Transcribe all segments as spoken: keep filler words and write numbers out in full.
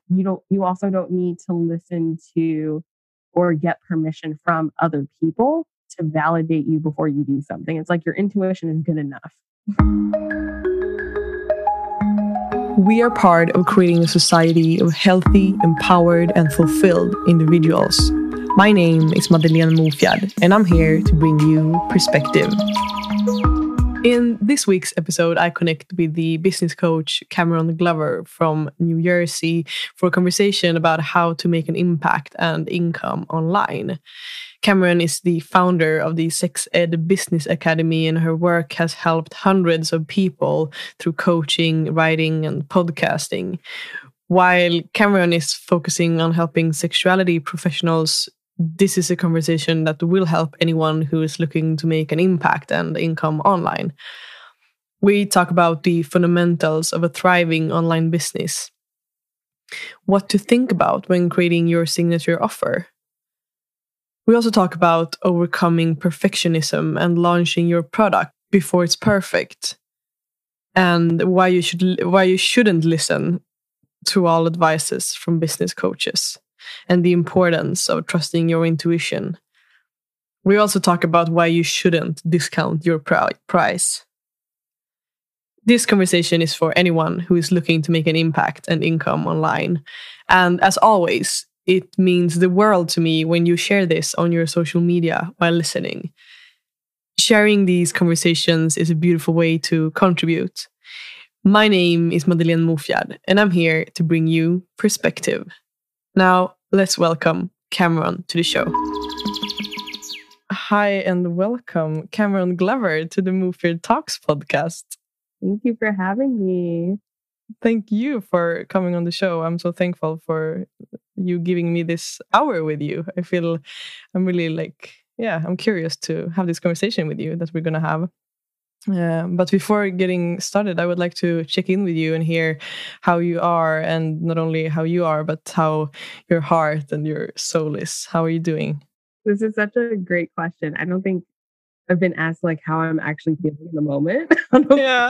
you don't, you also don't need to listen to or get permission from other people to validate you before you do something. It's like your intuition is good enough. We are part of creating a society of healthy, empowered, and fulfilled individuals. My name is Madeleine Mofjärd, and I'm here to bring you perspective. In this week's episode, I connect with the business coach Cameron Glover from New Jersey for a conversation about how to make an impact and income online. Cameron is the founder of the Sex Ed Business Academy, and her work has helped hundreds of people through coaching, writing, and podcasting. While Cameron is focusing on helping sexuality professionals, this is a conversation that will help anyone who is looking to make an impact and income online. We talk about the fundamentals of a thriving online business, what to think about when creating your signature offer. We also talk about overcoming perfectionism and launching your product before it's perfect, and why you should why you shouldn't listen to all advices from business coaches, and the importance of trusting your intuition. We also talk about why you shouldn't discount your pr- price. This conversation is for anyone who is looking to make an impact and income online. And as always, it means the world to me when you share this on your social media while listening. Sharing these conversations is a beautiful way to contribute. My name is Madeleine Mofjärd, and I'm here to bring you perspective. Now, let's welcome Cameron to the show. Hi, and welcome Cameron Glover to the Mofjärd Talks podcast. Thank you for having me. Thank you for coming on the show. I'm so thankful for you giving me this hour with you. I feel I'm really like, yeah, I'm curious to have this conversation with you that we're going to have. Uh, but before getting started, I would like to check in with you and hear how you are, and not only how you are, but how your heart and your soul is. How are you doing? This is such a great question. I don't think I've been asked like how I'm actually feeling in the moment. Yeah.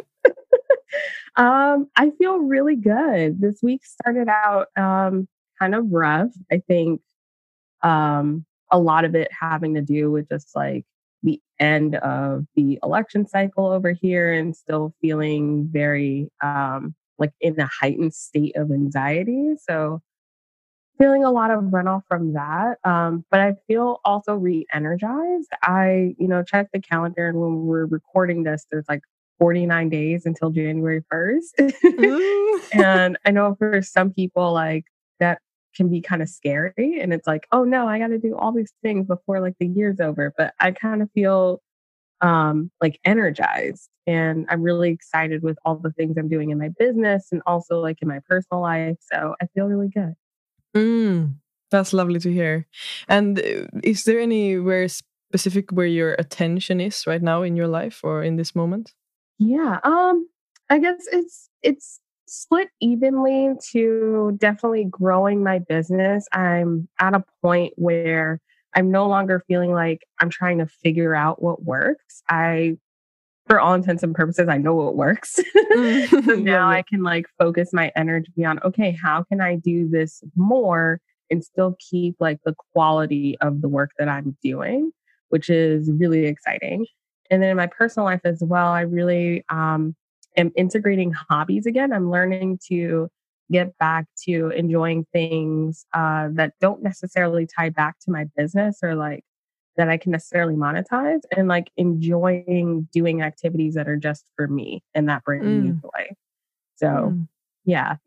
um, I feel really good. This week started out um, kind of rough. I think um, a lot of it having to do with just like the end of the election cycle over here, and still feeling very um, like in a heightened state of anxiety. So feeling a lot of runoff from that. Um, but I feel also re-energized. I, you know, checked the calendar, and when we're recording this, there's like forty-nine days until January first. Mm. And I know for some people, like that can be kind of scary, and it's like, oh no, I got to do all these things before like the year's over. But I kind of feel um, like energized, and I'm really excited with all the things I'm doing in my business and also like in my personal life. So I feel really good. Mm, that's lovely to hear. And is there anywhere specific where your attention is right now in your life or in this moment? Yeah, um, I guess it's it's split evenly to definitely growing my business. I'm at a point where I'm no longer feeling like I'm trying to figure out what works. I, for all intents and purposes, I know what works. Mm. So now I can like focus my energy on, okay, how can I do this more and still keep like the quality of the work that I'm doing, which is really exciting. And then in my personal life as well, I really um, am integrating hobbies again. I'm learning to get back to enjoying things uh, that don't necessarily tie back to my business or like that I can necessarily monetize, and like enjoying doing activities that are just for me and that bring mm. me joy. So, mm. yeah.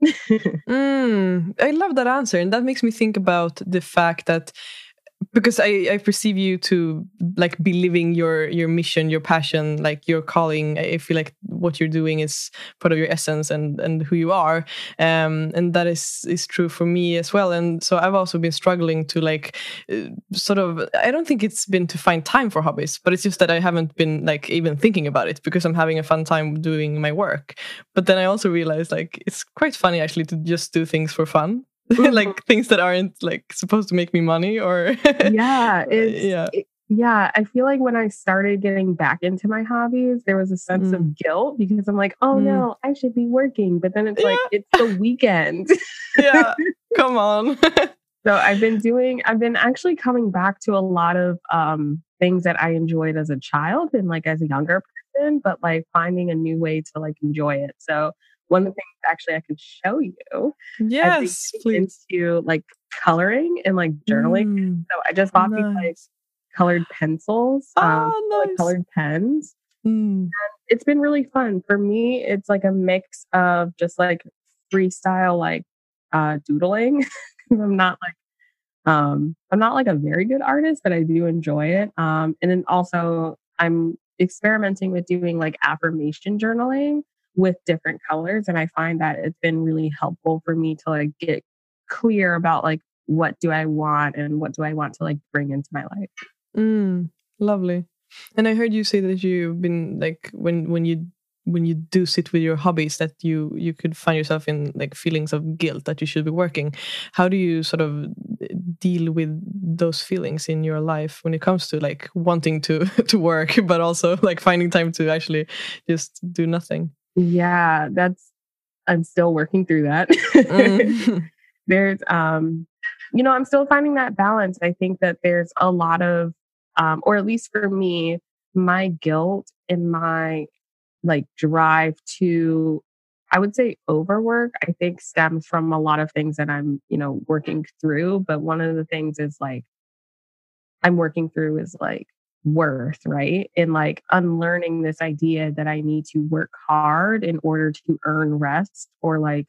mm. I love that answer. And that makes me think about the fact that, because I, I perceive you to like be living your your mission, your passion, like your calling. I feel like what you're doing is part of your essence and, and who you are. Um, and that is, is true for me as well. And so I've also been struggling to like uh, sort of, I don't think it's been to find time for hobbies, but it's just that I haven't been like even thinking about it because I'm having a fun time doing my work. But then I also realized like it's quite funny actually to just do things for fun. Like things that aren't like supposed to make me money or yeah, it's, yeah. It, Yeah, I feel like when I started getting back into my hobbies, there was a sense Mm. of guilt because I'm like, oh Mm. no, I should be working. But then it's like, Yeah. it's the weekend. Yeah, come on. So I've been doing, I've been actually coming back to a lot of um, things that I enjoyed as a child and like as a younger person, but like finding a new way to like enjoy it. So one of the things actually I can show you, I've been Yes, getting please. into like coloring and like journaling. Mm, So I just bought these like nice. colored pencils, um, Oh, like nice. colored pens. Mm. It's been really fun. For me, it's like a mix of just like freestyle, like uh, doodling. 'Cause I'm not like um, I'm not like a very good artist, but I do enjoy it. Um, and then also I'm experimenting with doing like affirmation journaling with different colors. And I find that it's been really helpful for me to like get clear about like what do I want and what do I want to like bring into my life. Mm, lovely. And I heard you say that you've been like when when you when you do sit with your hobbies that you you could find yourself in like feelings of guilt that you should be working. How do you sort of deal with those feelings in your life when it comes to like wanting to to work but also like finding time to actually just do nothing? Yeah, that's I'm still working through that. Mm. There's um you know, I'm still finding that balance. I think that there's a lot of um or at least for me, my guilt and my like drive to I would say overwork, I think stems from a lot of things that I'm, you know, working through, but one of the things is like I'm working through is like worth, right? And like unlearning this idea that I need to work hard in order to earn rest or like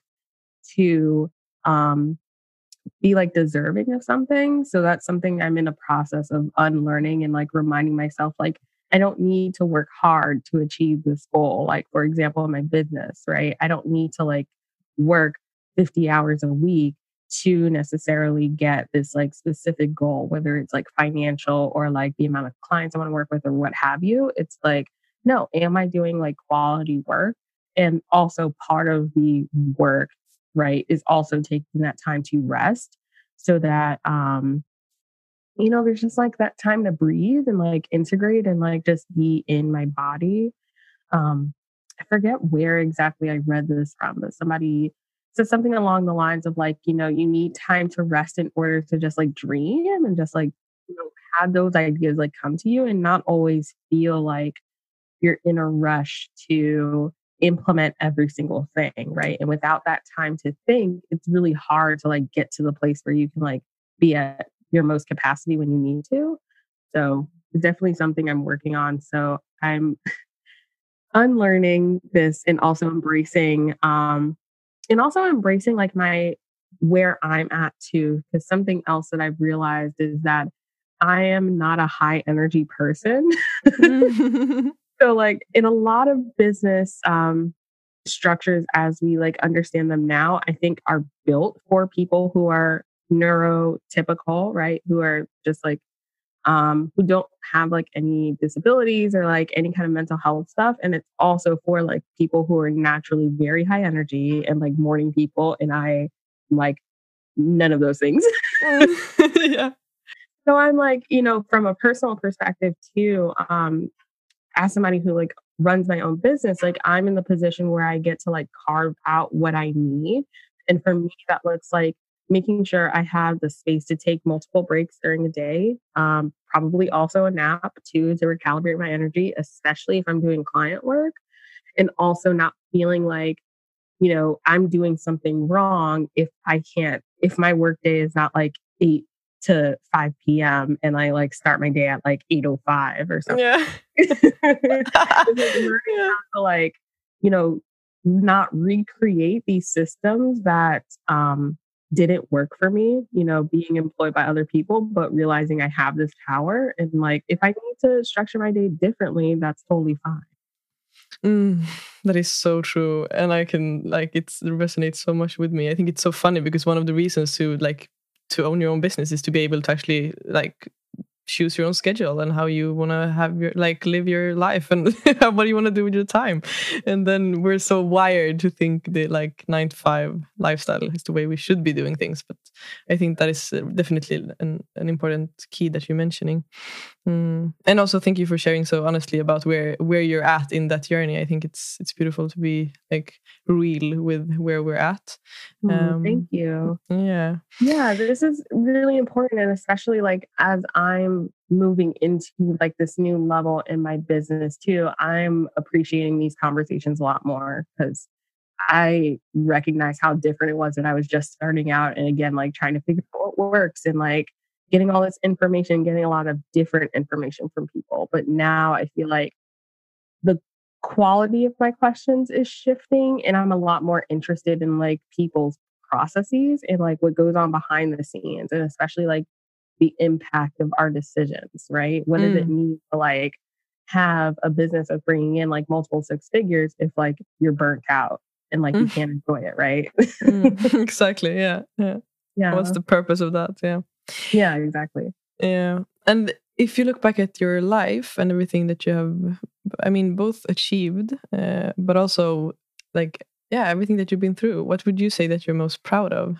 to um be like deserving of something. So that's something I'm in a process of unlearning and like reminding myself like I don't need to work hard to achieve this goal. Like for example, in my business, right? I don't need to like work fifty hours a week to necessarily get this like specific goal, whether it's like financial or like the amount of clients I want to work with or what have you. It's like, no, am I doing like quality work? And also part of the work, right, is also taking that time to rest so that um you know there's just like that time to breathe and like integrate and like just be in my body. um I forget where exactly I read this from, but somebody said something along the lines of like, you know, you need time to rest in order to just like dream and just like, you know, have those ideas like come to you and not always feel like you're in a rush to implement every single thing, right? And without that time to think, it's really hard to like get to the place where you can like be at your most capacity when you need to. So it's definitely something I'm working on. So I'm unlearning this and also embracing um and also embracing like my where I'm at too. Because something else that I've realized is that I am not a high energy person. So like in a lot of business um, structures as we like understand them now, I think are built for people who are neurotypical, right? Who are just like um, who don't have like any disabilities or like any kind of mental health stuff. And it's also for like people who are naturally very high energy and like morning people. And I like none of those things. Yeah. So I'm like, you know, from a personal perspective too, um, as somebody who like runs my own business, like I'm in the position where I get to like carve out what I need. And for me, that looks like making sure I have the space to take multiple breaks during the day. Um, probably also a nap too to recalibrate my energy, especially if I'm doing client work. And also not feeling like, you know, I'm doing something wrong if I can't, if my work day is not like eight to five p.m. and I like start my day at like eight oh five or something. Yeah. It's like learning Yeah. how to like, you know, not recreate these systems that um didn't work for me, you know, being employed by other people, but realizing I have this power and like if I need to structure my day differently, that's totally fine. Mm, that is so true. And I can like it resonates so much with me. I think it's so funny because one of the reasons to like to own your own business is to be able to actually like choose your own schedule and how you want to have your like live your life and what do you want to do with your time. And then we're so wired to think that like nine to five lifestyle is the way we should be doing things. But I think that is definitely an, an important key that you're mentioning. Mm. And also thank you for sharing so honestly about where where you're at in that journey. I think it's it's beautiful to be like real with where we're at. Mm, Um, thank you. Yeah. Yeah, this is really important. And especially like as I'm moving into like this new level in my business too, I'm appreciating these conversations a lot more because I recognize how different it was when I was just starting out. And again, like trying to figure out what works and like getting all this information, getting a lot of different information from people. But now I feel like the quality of my questions is shifting and I'm a lot more interested in like people's processes and like what goes on behind the scenes and especially like the impact of our decisions, right? What does it Mm. mean to like have a business of bringing in like multiple six figures if like you're burnt out and like you Mm. can't enjoy it, right? Mm. Exactly. Yeah. Yeah. Yeah. What's the purpose of that? Yeah. Yeah, exactly. Yeah. And if you look back at your life and everything that you have, I mean, both achieved, uh, but also like, yeah, everything that you've been through, what would you say that you're most proud of?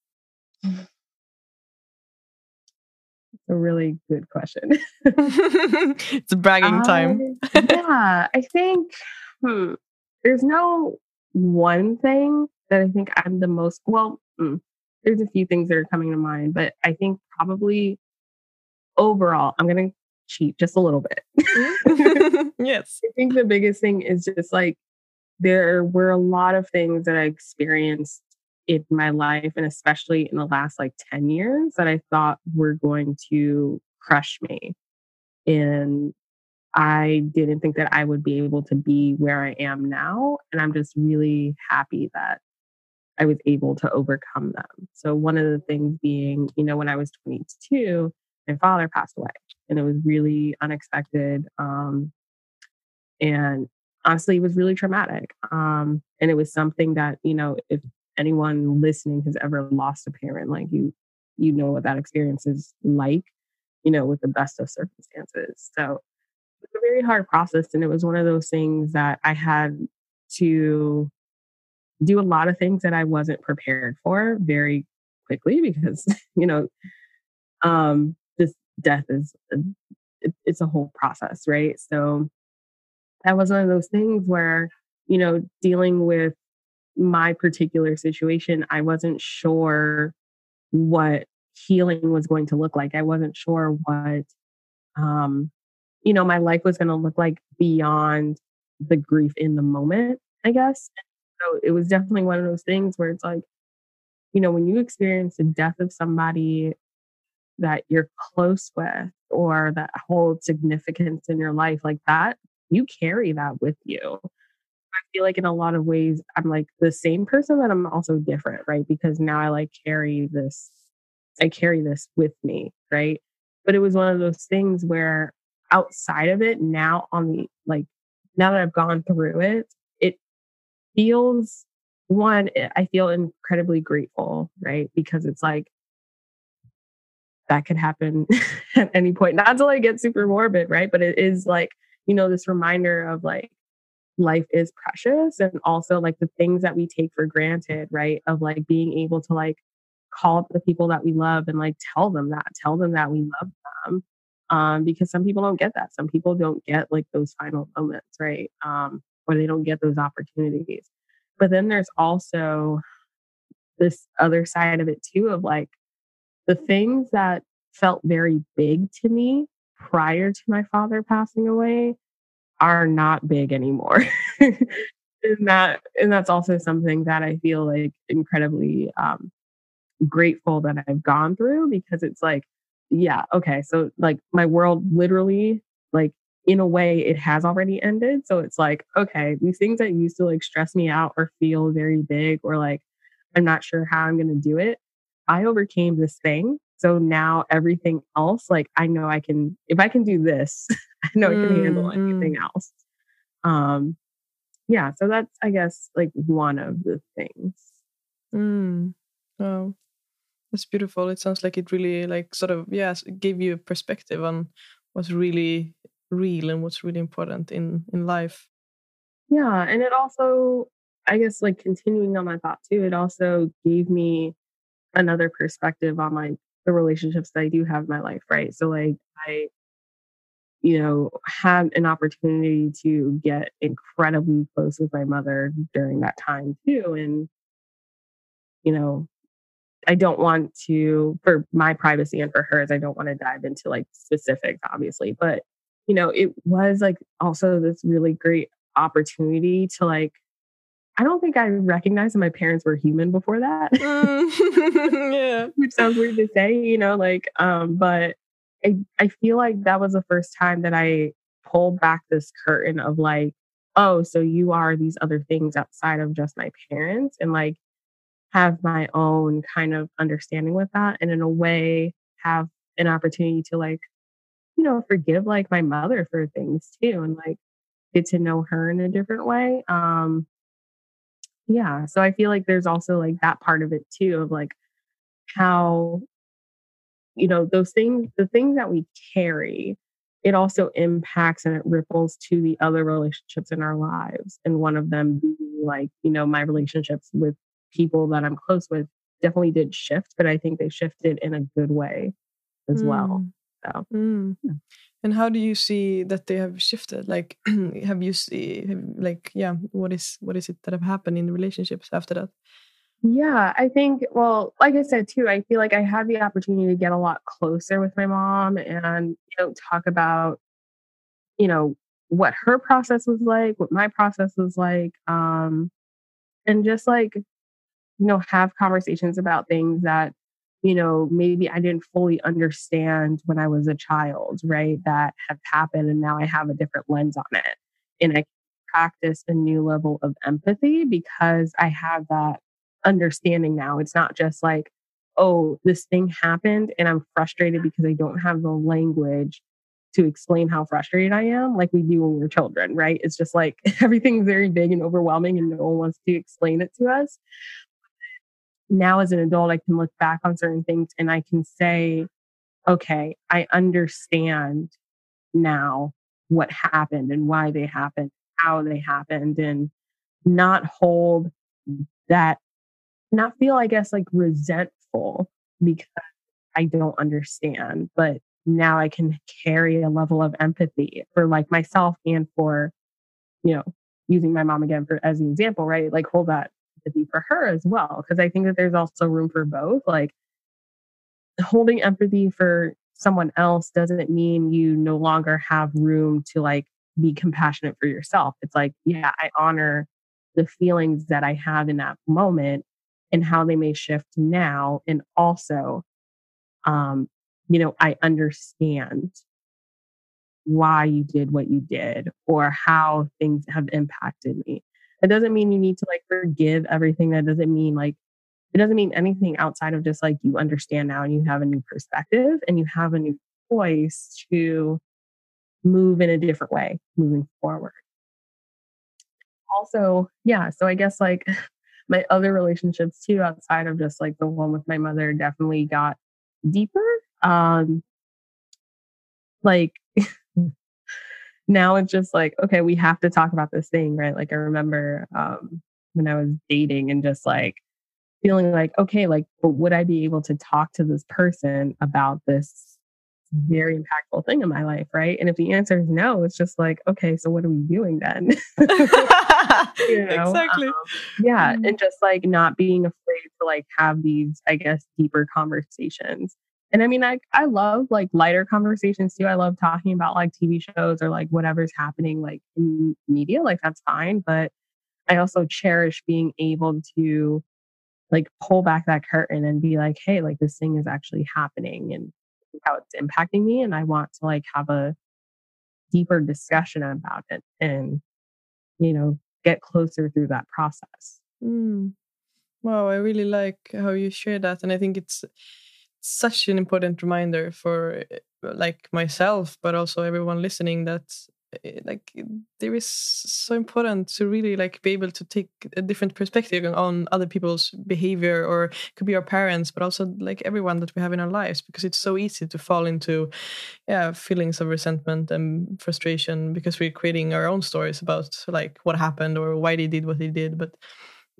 A really good question. It's bragging time. I, yeah, I think hmm, there's no one thing that I think I'm the most, well, mm, there's a few things that are coming to mind, but I think probably overall, I'm going to cheat just a little bit. Yes. I think the biggest thing is just like there were a lot of things that I experienced in my life, and especially in the last like ten years, that I thought were going to crush me. And I didn't think that I would be able to be where I am now. And I'm just really happy that I was able to overcome them. So, one of the things being, you know, when I was twenty-two, my father passed away and it was really unexpected. Um, and honestly, it was really traumatic. Um, and it was something that, you know, if anyone listening has ever lost a parent, like you, you know what that experience is like, you know, with the best of circumstances. So, it's a very hard process. And it was one of those things that I had to do a lot of things that I wasn't prepared for very quickly because, you know, um, this death is, a, it, it's a whole process, right? So that was one of those things where, you know, dealing with my particular situation, I wasn't sure what healing was going to look like. I wasn't sure what, um, you know, my life was going to look like beyond the grief in the moment, I guess. So it was definitely one of those things where it's like, you know, when you experience the death of somebody that you're close with or that holds significance in your life like that, you carry that with you. I feel like in a lot of ways, I'm like the same person, but I'm also different, right? Because now I like carry this, I carry this with me, right? But it was one of those things where outside of it, now on the like, now that I've gone through it, it feels one, I feel incredibly grateful, right? Because it's like, that could happen at any point. Not to like get super morbid, right? But it is like, you know, this reminder of like life is precious and also like the things that we take for granted, right? Of like being able to like call up the people that we love and like tell them that, tell them that we love them. Um, because some people don't get that. Some people don't get like those final moments, right? Um, or they don't get those opportunities. But then there's also this other side of it too of like the things that felt very big to me prior to my father passing away are not big anymore. and that and that's also something that I feel like incredibly um, grateful that I've gone through because it's like, yeah, okay, so like my world literally, like in a way, it has already ended. So it's like, okay, these things that used to like stress me out or feel very big or like I'm not sure how I'm going to do it. I overcame this thing. So now everything else, like I know I can, if I can do this, I know I can handle anything Mm-hmm. else. Um, yeah, so that's, I guess, like one of the things. Mm. Oh, that's beautiful. It sounds like it really like sort of, yes, it gave you a perspective on what's really real and what's really important in, in life. Yeah. And it also, I guess, like continuing on that thought too, it also gave me another perspective on like the relationships that I do have in my life, right? So like I you know, had an opportunity to get incredibly close with my mother during that time too. And, you know, I don't want to, for my privacy and for hers, I don't want to dive into like specifics, obviously, but, you know, it was like also this really great opportunity to like, I don't think I recognized that my parents were human before that. Mm. Yeah. Which sounds weird to say, you know, like, um, but I, I feel like that was the first time that I pulled back this curtain of like, oh, so you are these other things outside of just my parents, and like have my own kind of understanding with that. And in a way, have an opportunity to like, you know, forgive like my mother for things too, and like get to know her in a different way. Um, yeah. So I feel like there's also like that part of it too, of like how, you know, those things, the things that we carry, it also impacts and it ripples to the other relationships in our lives. And one of them being like, you know, my relationships with people that I'm close with definitely did shift, but I think they shifted in a good way as well. Mm. So, Mm. yeah. And how do you see that they have shifted? Like, have you see, have, like, yeah, what is what is it that have happened in the relationships after that? Yeah, I think, well, like I said too, I feel like I had the opportunity to get a lot closer with my mom and, you know, talk about, you know, what her process was like, what my process was like, um, and just like, you know, have conversations about things that, you know, maybe I didn't fully understand when I was a child, right? That have happened and now I have a different lens on it. And I practice a new level of empathy because I have that understanding now. It's not just like, oh, this thing happened and I'm frustrated because I don't have the language to explain how frustrated I am, like we do when we're children, right? It's just like everything's very big and overwhelming and no one wants to explain it to us. Now, as an adult, I can look back on certain things and I can say, okay, I understand now what happened and why they happened, how they happened, and not hold that, not feel, I guess, like resentful because I don't understand. But now I can carry a level of empathy for like myself and for, you know, using my mom again for as an example, right? Like hold that empathy for her as well. Cause I think that there's also room for both. Like holding empathy for someone else doesn't mean you no longer have room to like be compassionate for yourself. It's like, yeah, I honor the feelings that I have in that moment and how they may shift now. And also, um, you know, I understand why you did what you did or how things have impacted me. It doesn't mean you need to like forgive everything. That doesn't mean like, it doesn't mean anything outside of just like you understand now and you have a new perspective and you have a new choice to move in a different way moving forward. Also, yeah, so I guess like my other relationships too, outside of just like the one with my mother, definitely got deeper. Um, like now it's just like, okay, we have to talk about this thing, right? Like I remember um, when I was dating and just like feeling like, okay, like, but would I be able to talk to this person about this very impactful thing in my life, right? And if the answer is no, it's just like, okay, so what are we doing then? you know? Exactly. Um, yeah, Mm. and just like not being afraid to like have these, I guess, deeper conversations. And I mean, I I love like lighter conversations too. I love talking about like T V shows or like whatever's happening like in media, like that's fine. But I also cherish being able to like pull back that curtain and be like, hey, like this thing is actually happening and how it's impacting me. And I want to like have a deeper discussion about it and, you know, get closer through that process. Mm. Wow, I really like how you share that, and I think it's such an important reminder for uh, like myself, but also everyone listening that uh, like there is so important to really like be able to take a different perspective on other people's behavior, or it could be our parents, but also like everyone that we have in our lives, because it's so easy to fall into yeah feelings of resentment and frustration because we're creating our own stories about like what happened or why they did what they did. But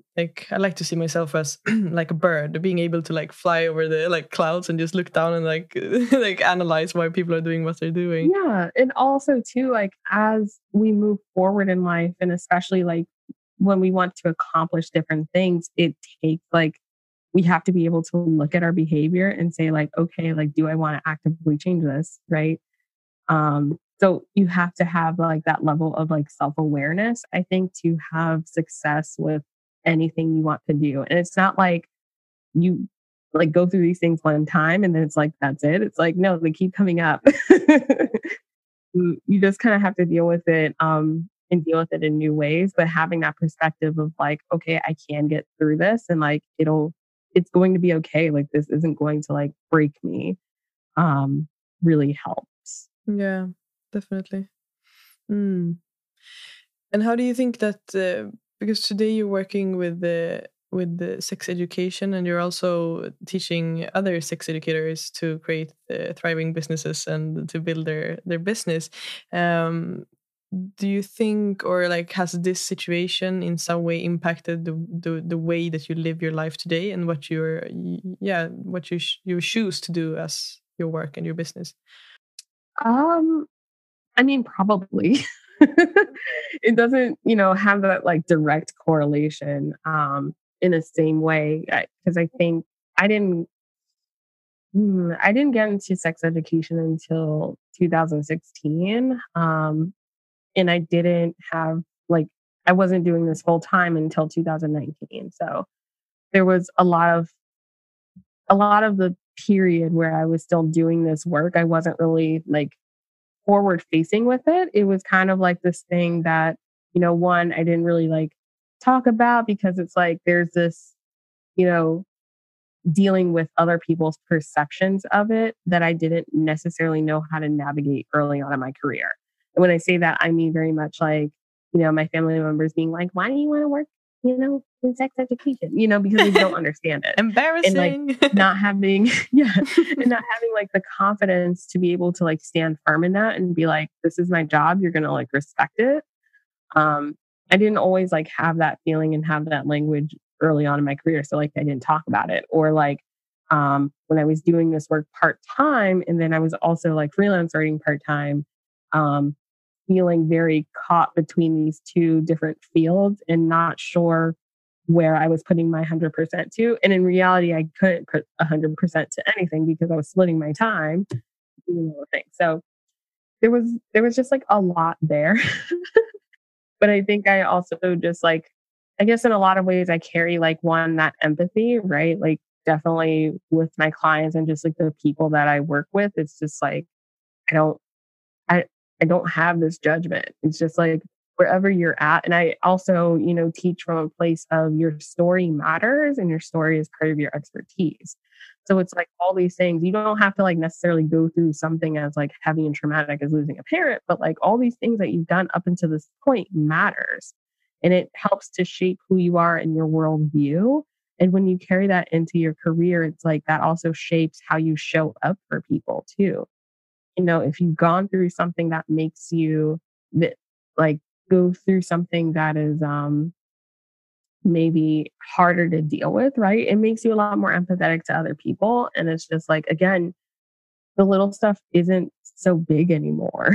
like I like to see myself as like a bird, being able to like fly over the like clouds and just look down and like like analyze why people are doing what they're doing. Yeah. And also too, like as we move forward in life, and especially like when we want to accomplish different things, it takes like we have to be able to look at our behavior and say like, okay, like, do I want to actively change this? Right. Um, so you have to have like that level of like self-awareness, I think, to have success with anything you want to do. And it's not like you like go through these things one time and then it's like, that's it. It's like, no, they keep coming up. you, you just kind of have to deal with it um, and deal with it in new ways. But having that perspective of like, okay, I can get through this and like, it'll, it's going to be okay. Like this isn't going to like break me. Um, really helps. Yeah, definitely. Mm. And how do you think that, uh, because today you're working with the with the sex education and you're also teaching other sex educators to create uh, thriving businesses and to build their, their business. Um, do you think, or like, has this situation in some way impacted the, the, the way that you live your life today and what you're, yeah, what you, sh- you choose to do as your work and your business? Um, I mean, probably. It doesn't, you know, have that like direct correlation um, in the same way because I, I think I didn't, hmm, I didn't get into sex education until two thousand sixteen, um, and I didn't have like I wasn't doing this full time until two thousand nineteen. So there was a lot of a lot of the period where I was still doing this work. I wasn't really like forward facing with it. It was kind of like this thing that, you know, one, I didn't really like talk about because it's like there's this, you know, dealing with other people's perceptions of it that I didn't necessarily know how to navigate early on in my career. And when I say that, I mean very much like, you know, my family members being like, why do you want to work, you know, in sex education? You know, because they don't understand it. Embarrassing. And like not having, yeah, and not having like the confidence to be able to like stand firm in that and be like, this is my job. You're going to like respect it. Um, I didn't always like have that feeling and have that language early on in my career. So like I didn't talk about it. Or like um, when I was doing this work part time and then I was also like freelance writing part time, um, feeling very caught between these two different fields and not sure where I was putting my one hundred percent to. And in reality, I couldn't put one hundred percent to anything because I was splitting my time doing all the things. So there was there was just like a lot there. But I think I also just like, I guess in a lot of ways I carry like one, that empathy, right? Like definitely with my clients and just like the people that I work with, it's just like, I don't, I, I don't have this judgment. It's just like wherever you're at. And I also, you know, teach from a place of your story matters and your story is part of your expertise. So it's like all these things, you don't have to like necessarily go through something as like heavy and traumatic as losing a parent, but like all these things that you've done up until this point matters. And it helps to shape who you are in your worldview. And when you carry that into your career, it's like that also shapes how you show up for people too. You know, if you've gone through something that makes you that like go through something that is um maybe harder to deal with, right? It makes you a lot more empathetic to other people. And it's just like, again, the little stuff isn't so big anymore,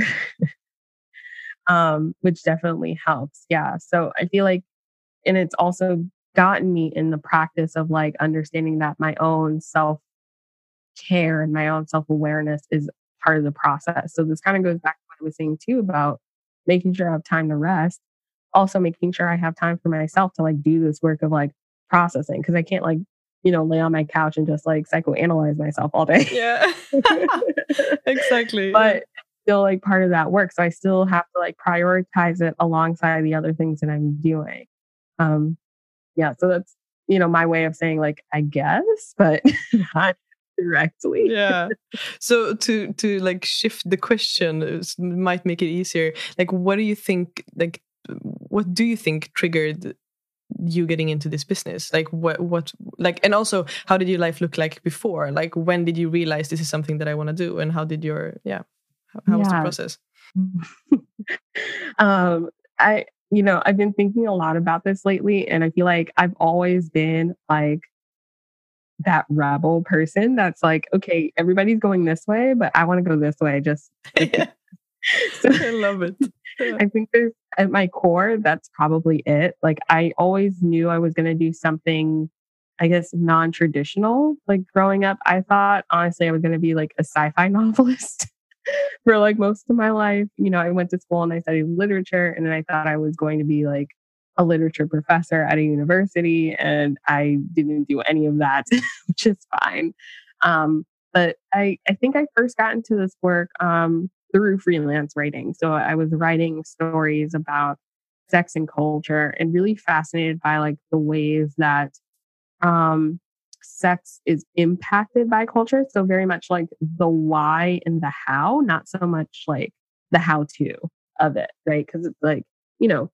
um, which definitely helps. Yeah. So I feel like, and it's also gotten me in the practice of like understanding that my own self care and my own self awareness is part of the process. So this kind of goes back to what I was saying too about making sure I have time to rest. Also making sure I have time for myself to like do this work of like processing because I can't like, you know, lay on my couch and just like psychoanalyze myself all day. Yeah, exactly. But yeah. Still like part of that work. So I still have to like prioritize it alongside the other things that I'm doing. Um, yeah. So that's, you know, my way of saying like, I guess, but not directly. Yeah. So to, to like shift the question might make it easier. Like, what do you think, like, what do you think triggered you getting into this business? Like what, what, like, and also how did your life look like before? Like when did you realize this is something that I want to do? And how did your, yeah, how, how yeah. was the process? um, I, you know, I've been thinking a lot about this lately, and I feel like I've always been like that rebel person that's like, okay, everybody's going this way, but I want to go this way. Just so I love it. Yeah. I think there's at my core, that's probably it. Like I always knew I was going to do something, I guess, non-traditional. Like growing up, I thought honestly I was going to be like a sci-fi novelist for like most of my life. You know, I went to school and I studied literature, and then I thought I was going to be like a literature professor at a university, and I didn't do any of that, which is fine. Um, but I, I think I first got into this work um, through freelance writing. So I was writing stories about sex and culture, and really fascinated by like the ways that um, sex is impacted by culture. So very much like the why and the how, not so much like the how to of it, right? Because it's like, you know,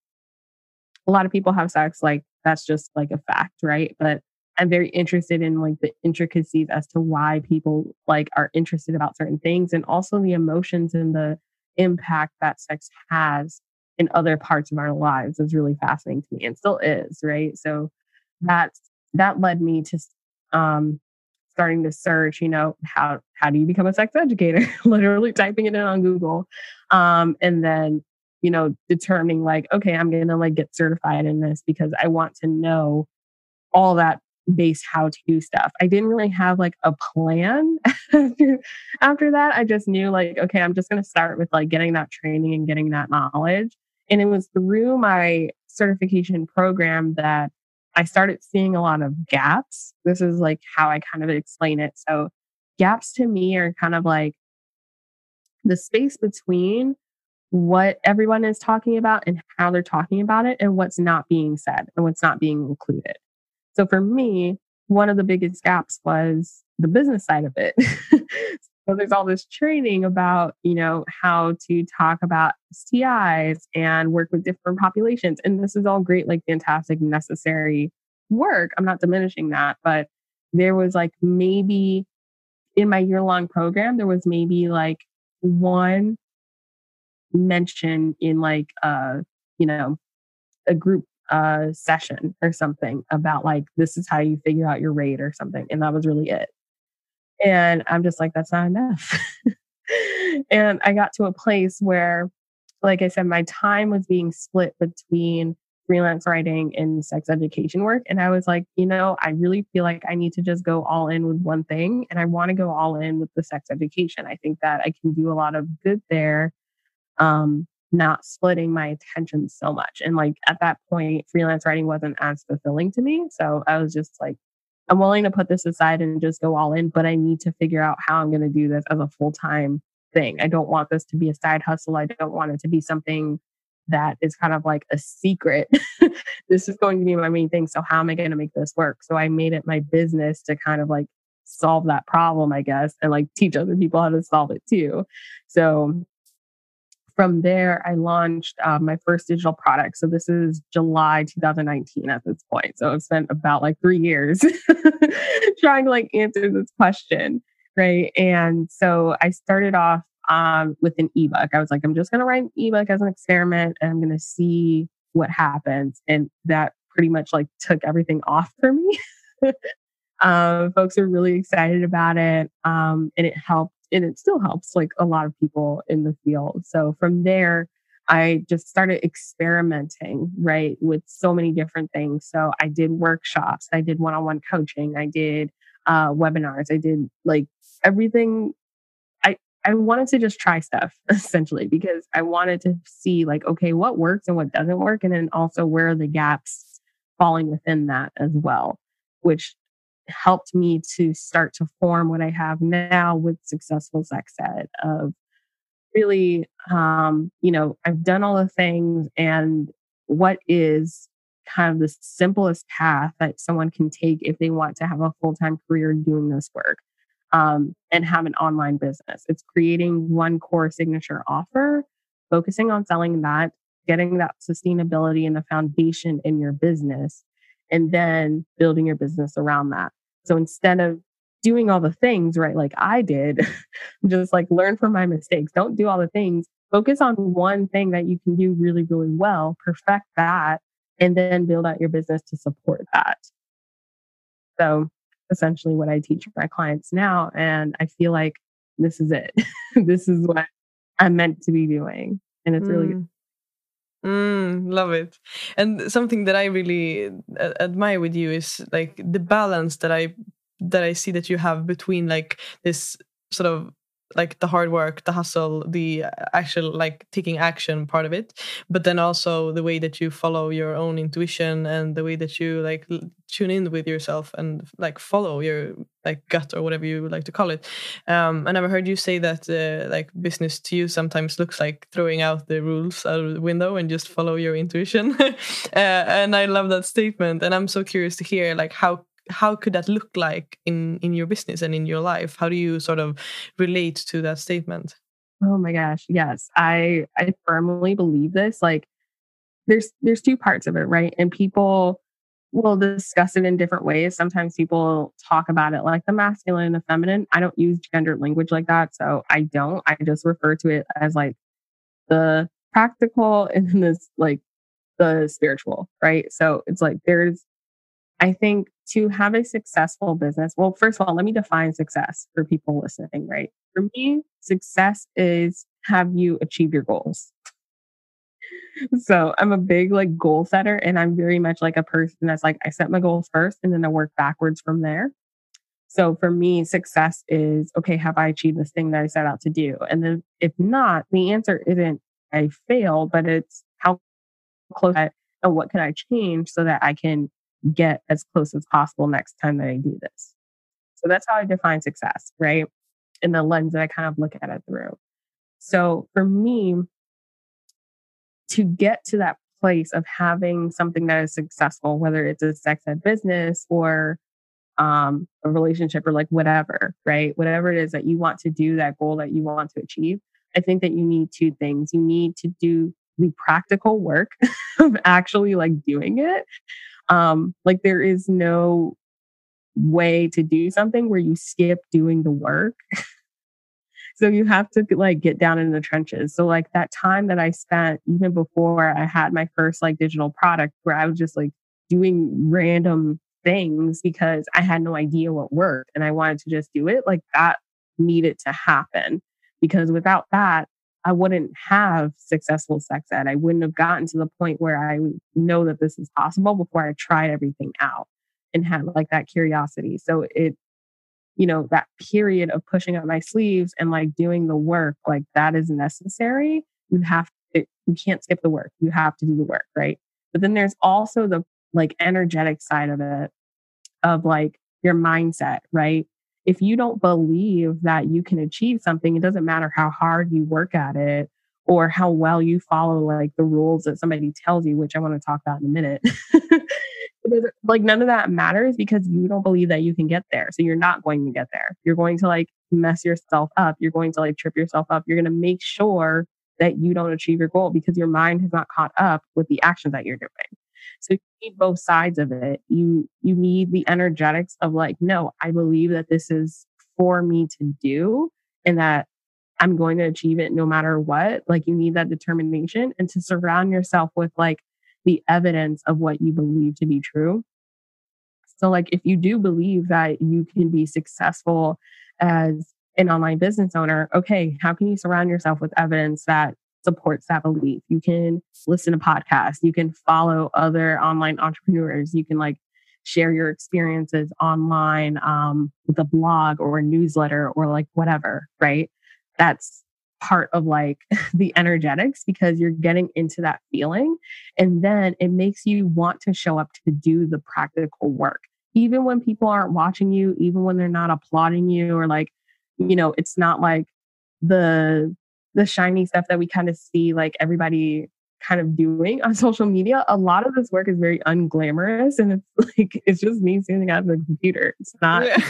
a lot of people have sex, like that's just like a fact, right? But I'm very interested in like the intricacies as to why people like are interested about certain things, and also the emotions and the impact that sex has in other parts of our lives is really fascinating to me, and still is, right? So that's that led me to um starting to search, you know, how how do you become a sex educator? Literally typing it in on Google. Um, and then you know, determining like, okay, I'm going to like get certified in this because I want to know all that base how to stuff. I didn't really have like a plan after, after that. I just knew like, okay, I'm just going to start with like getting that training and getting that knowledge. And it was through my certification program that I started seeing a lot of gaps. This is like how I kind of explain it. So gaps to me are kind of like the space between what everyone is talking about and how they're talking about it, and what's not being said and what's not being included. So for me, one of the biggest gaps was the business side of it. So there's all this training about, you know, how to talk about S T Is and work with different populations. And this is all great, like fantastic, necessary work. I'm not diminishing that, but there was like maybe in my year long program, there was maybe like one mention in like uh you know a group uh session or something about like this is how you figure out your rate or something, and that was really it. And I'm just like, that's not enough. And I got to a place where, like I said, my time was being split between freelance writing and sex education work, and I was like, you know, I really feel like I need to just go all in with one thing, and I want to go all in with the sex education. I think that I can do a lot of good there, um, not splitting my attention so much. And like at that point, freelance writing wasn't as fulfilling to me. So I was just like, I'm willing to put this aside and just go all in, but I need to figure out how I'm going to do this as a full time thing. I don't want this to be a side hustle. I don't want it to be something that is kind of like a secret. This is going to be my main thing. So how am I going to make this work? So I made it my business to kind of like solve that problem, I guess, and like teach other people how to solve it too. So from there, I launched uh, my first digital product. So this is July twenty nineteen at this point. So I've spent about like three years trying to like answer this question, right? And so I started off um, with an ebook. I was like, I'm just going to write an ebook as an experiment, and I'm going to see what happens. And that pretty much like took everything off for me. um, folks are really excited about it, um, and it helped. And it still helps like a lot of people in the field. So from there, I just started experimenting, right, with so many different things. So I did workshops, I did one-on-one coaching, I did uh, webinars, I did like everything. I, I wanted to just try stuff essentially, because I wanted to see like, okay, what works and what doesn't work. And then also where are the gaps falling within that as well, which helped me to start to form what I have now with Successful Sex Ed. Of really, um, you know, I've done all the things, and what is kind of the simplest path that someone can take if they want to have a full-time career doing this work, um, and have an online business. It's creating one core signature offer, focusing on selling that, getting that sustainability and the foundation in your business, and then building your business around that. So instead of doing all the things, right, like I did, just like learn from my mistakes. Don't do all the things, focus on one thing that you can do really, really well, perfect that, and then build out your business to support that. So essentially what I teach my clients now. And I feel like this is it. This is what I'm meant to be doing. And it's really Mm. Mm, love it. And something that I really uh, admire with you is like the balance that I that I see that you have between like this sort of like the hard work, the hustle, the actual like taking action part of it, but then also the way that you follow your own intuition and the way that you like l- tune in with yourself and like follow your like gut or whatever you would like to call it. Um, and I've heard you say that uh, like business to you sometimes looks like throwing out the rules out of the window and just follow your intuition. uh, and I love that statement. And I'm so curious to hear like how how could that look like in in your business and in your life? How do you sort of relate to that statement? oh my gosh. Yes. I I firmly believe this. Like there's there's two parts of it, right? And people will discuss it in different ways. Sometimes people talk about it like the masculine and the feminine. I don't use gendered language like that. So I don't. I just refer to it as like the practical and then this like the spiritual, right? So it's like there's I think to have a successful business, well, first of all, let me define success for people listening, right? For me, success is have you achieve your goals. So I'm a big like goal setter and I'm very much like a person that's like, I set my goals first and then I work backwards from there. So for me, success is, okay, have I achieved this thing that I set out to do? And then if not, the answer isn't I failed, but it's how close I, and what can I change so that I can get as close as possible next time that I do this. So that's how I define success, right? In the lens that I kind of look at it through. So for me, to get to that place of having something that is successful, whether it's a sex ed business or um, a relationship or like whatever, right? Whatever it is that you want to do, that goal that you want to achieve, I think that you need two things. You need to do the practical work of actually like doing it. Um, like there is no way to do something where you skip doing the work. So you have to like get down in the trenches. So like that time that I spent even before I had my first like digital product where I was just like doing random things because I had no idea what worked and I wanted to just do it, like that needed to happen because without that, I wouldn't have successful sex ed. I wouldn't have gotten to the point where I know that this is possible before I tried everything out and had like that curiosity. So it you know, that period of pushing up my sleeves and like doing the work, like that is necessary. You have to, you can't skip the work. You have to do the work, right? But then there's also the like energetic side of it, of like your mindset, right? If you don't believe that you can achieve something, it doesn't matter how hard you work at it or how well you follow like the rules that somebody tells you, which I want to talk about in a minute. Like none of that matters because you don't believe that you can get there. So you're not going to get there. You're going to like mess yourself up. You're going to like trip yourself up. You're going to make sure that you don't achieve your goal because your mind has not caught up with the actions that you're doing. So you need both sides of it. You you need the energetics of like, no, I believe that this is for me to do and that I'm going to achieve it no matter what. Like you need that determination and to surround yourself with like the evidence of what you believe to be true. So like if you do believe that you can be successful as an online business owner, okay, how can you surround yourself with evidence that supports that belief? You can listen to podcasts, you can follow other online entrepreneurs, you can like share your experiences online um, with a blog or a newsletter or like whatever, right? That's part of like the energetics because you're getting into that feeling and then it makes you want to show up to do the practical work even when people aren't watching you, even when they're not applauding you or like you know it's not like the the shiny stuff that we kind of see like everybody kind of doing on social media. A lot of this work is very unglamorous and it's like it's just me sitting at the computer. It's not Yeah.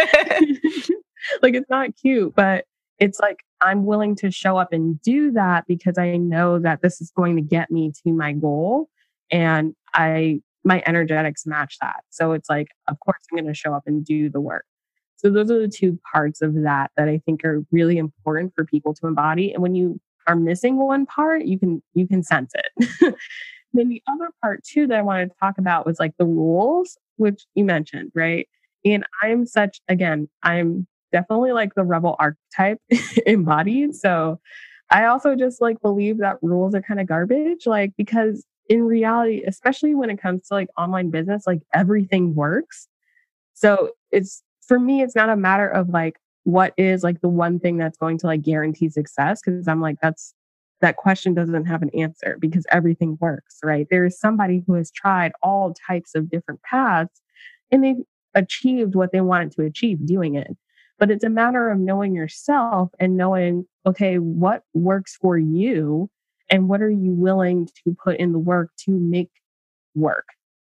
like it's not cute, but it's like I'm willing to show up and do that because I know that this is going to get me to my goal and I my energetics match that. So it's like of course I'm going to show up and do the work. So those are the two parts of that that I think are really important for people to embody. And when you are missing one part, you can you can sense it. Then the other part too that I wanted to talk about was like the rules, which you mentioned, right? And I'm such, again, I'm definitely like the rebel archetype embodied. So I also just like believe that rules are kind of garbage, like because in reality, especially when it comes to like online business, like everything works. So it's for me, it's not a matter of like what is like the one thing that's going to like guarantee success. Cause I'm like, that's that question doesn't have an answer because everything works, right? There is somebody who has tried all types of different paths and they've achieved what they wanted to achieve doing it. But it's a matter of knowing yourself and knowing, okay, what works for you and what are you willing to put in the work to make work?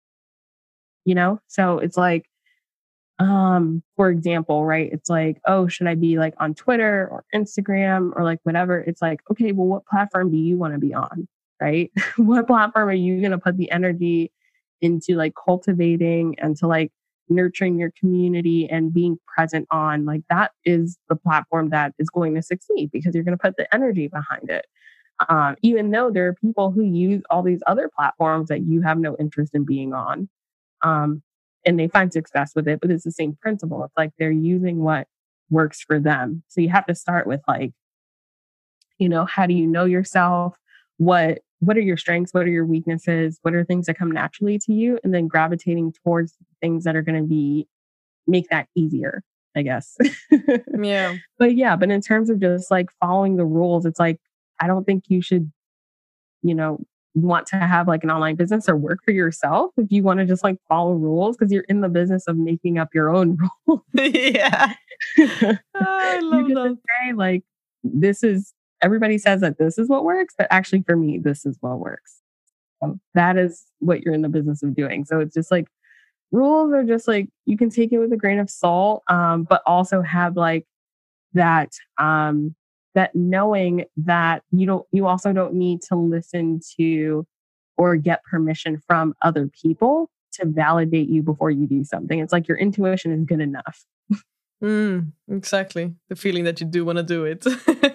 You know? So it's like, um, for example, right? It's like, oh, should I be like on Twitter or Instagram or like whatever? It's like, okay, well, what platform do you want to be on? Right? What platform are you going to put the energy into like cultivating and to like nurturing your community and being present on? Like that is the platform that is going to succeed because you're going to put the energy behind it. Um, even though there are people who use all these other platforms that you have no interest in being on. Um, and they find success with it, but it's the same principle. It's like they're using what works for them. So you have to start with like, you know, how do you know yourself? What what are your strengths? What are your weaknesses? What are things that come naturally to you? And then gravitating towards things that are going to be make that easier, I guess. Yeah. But yeah, but in terms of just like following the rules, it's like I don't think you should, you know, want to have like an online business or work for yourself if you want to just like follow rules because you're in the business of making up your own rules. Yeah. I love You get that. to say like, this is, everybody says that this is what works, but actually for me, this is what works. So that is what you're in the business of doing. So it's just like rules are just like, you can take it with a grain of salt, um, but also have like that, um, that knowing that you don't, you also don't need to listen to or get permission from other people to validate you before you do something. It's like your intuition is good enough. Mm, exactly. The feeling that you do want to do it.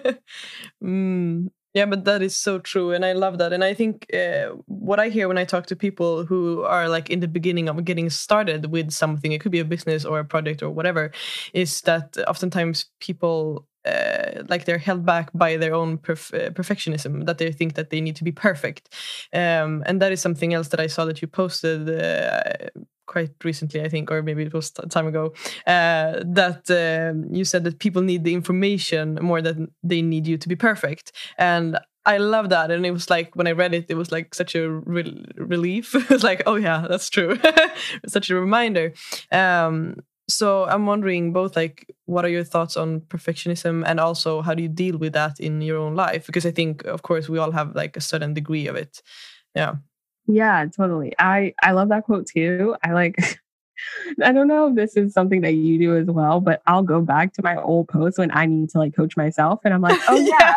mm. Yeah, but that is so true. And I love that. And I think uh, what I hear when I talk to people who are like in the beginning of getting started with something, it could be a business or a project or whatever, is that oftentimes people uh, like they're held back by their own perf- uh, perfectionism, that they think that they need to be perfect. Um, and that is something else that I saw that you posted uh, quite recently, I think, or maybe it was t- time ago, uh, that um, you said that people need the information more than they need you to be perfect. And I love that. And it was like, when I read it, it was like such a re- relief. It was like, oh yeah, that's true. Such a reminder. Um, so I'm wondering both, like, what are your thoughts on perfectionism, and also how do you deal with that in your own life? Because I think, of course, we all have like a certain degree of it. Yeah. Yeah, totally. I, I love that quote too. I like, I don't know if this is something that you do as well, but I'll go back to my old posts when I need to like coach myself. And I'm like, oh yeah.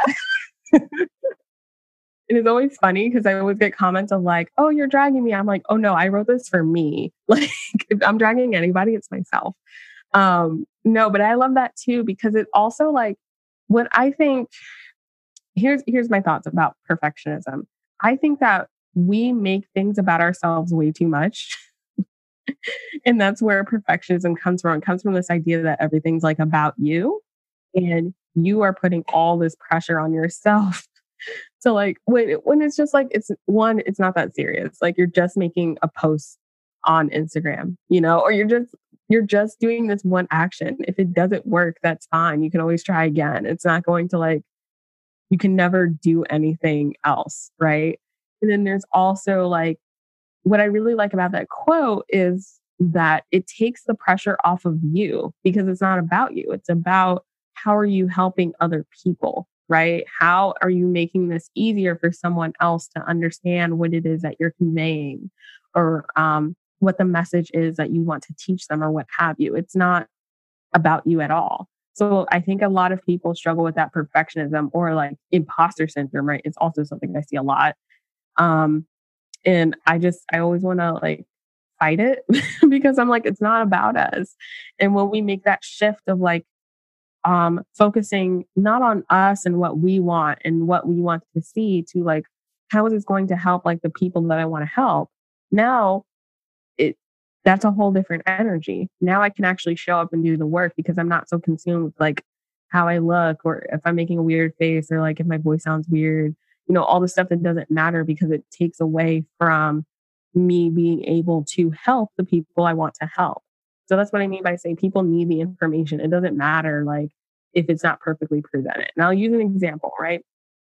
It is always funny because I always get comments of like, oh, you're dragging me. I'm like, oh no, I wrote this for me. Like if I'm dragging anybody, it's myself. Um, no, but I love that too, because it also like what I think, here's, here's my thoughts about perfectionism. I think that we make things about ourselves way too much. And that's where perfectionism comes from. It comes from this idea that everything's like about you and you are putting all this pressure on yourself. So like when, when it's just like, it's one, it's not that serious. Like you're just making a post on Instagram, you know, or you're just, you're just doing this one action. If it doesn't work, that's fine. You can always try again. It's not going to like, you can never do anything else. Right. And then there's also like, what I really like about that quote is that it takes the pressure off of you because it's not about you. It's about how are you helping other people, right? How are you making this easier for someone else to understand what it is that you're conveying or um, what the message is that you want to teach them or what have you. It's not about you at all. So I think a lot of people struggle with that perfectionism or like imposter syndrome, right? It's also something I see a lot. Um, And I just, I always want to like fight it because I'm like, it's not about us. And when we make that shift of like, um, focusing not on us and what we want and what we want to see to like, how is this going to help like the people that I want to help? Now it that's a whole different energy. Now I can actually show up and do the work because I'm not so consumed with like how I look or if I'm making a weird face or like if my voice sounds weird, you know, all the stuff that doesn't matter because it takes away from me being able to help the people I want to help. So that's what I mean by saying people need the information. It doesn't matter like if it's not perfectly presented. And I'll use an example, right?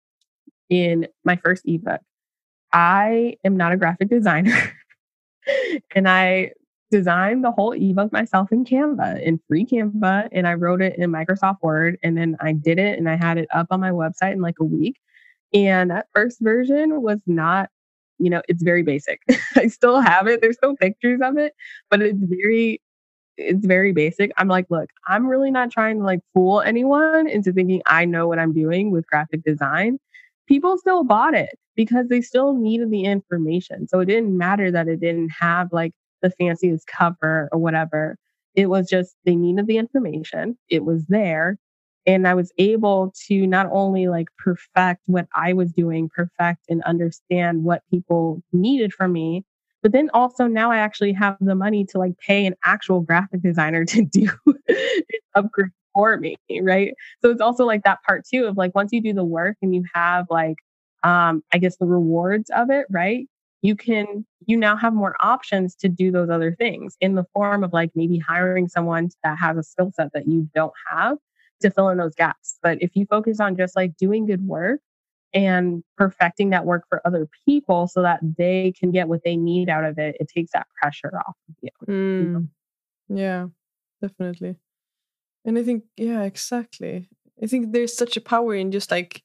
In my first ebook, I am not a graphic designer and I designed the whole ebook myself in Canva, in free Canva, and I wrote it in Microsoft Word and then I did it and I had it up on my website in like a week. And that first version was not, you know, it's very basic. I still have it. There's still pictures of it, but it's very, it's very basic. I'm like, look, I'm really not trying to like fool anyone into thinking I know what I'm doing with graphic design. People still bought it because they still needed the information. So it didn't matter that it didn't have like the fanciest cover or whatever. It was just they needed the information. It was there. And I was able to not only like perfect what I was doing, perfect and understand what people needed from me, but then also now I actually have the money to like pay an actual graphic designer to do an upgrade for me, right? So it's also like that part too of like once you do the work and you have like um I guess the rewards of it, right? You can you now have more options to do those other things in the form of like maybe hiring someone that has a skill set that you don't have to fill in those gaps. But if you focus on just like doing good work and perfecting that work for other people so that they can get what they need out of it, it takes that pressure off of you. Mm. Yeah, definitely. And I think, yeah, exactly. I think there's such a power in just like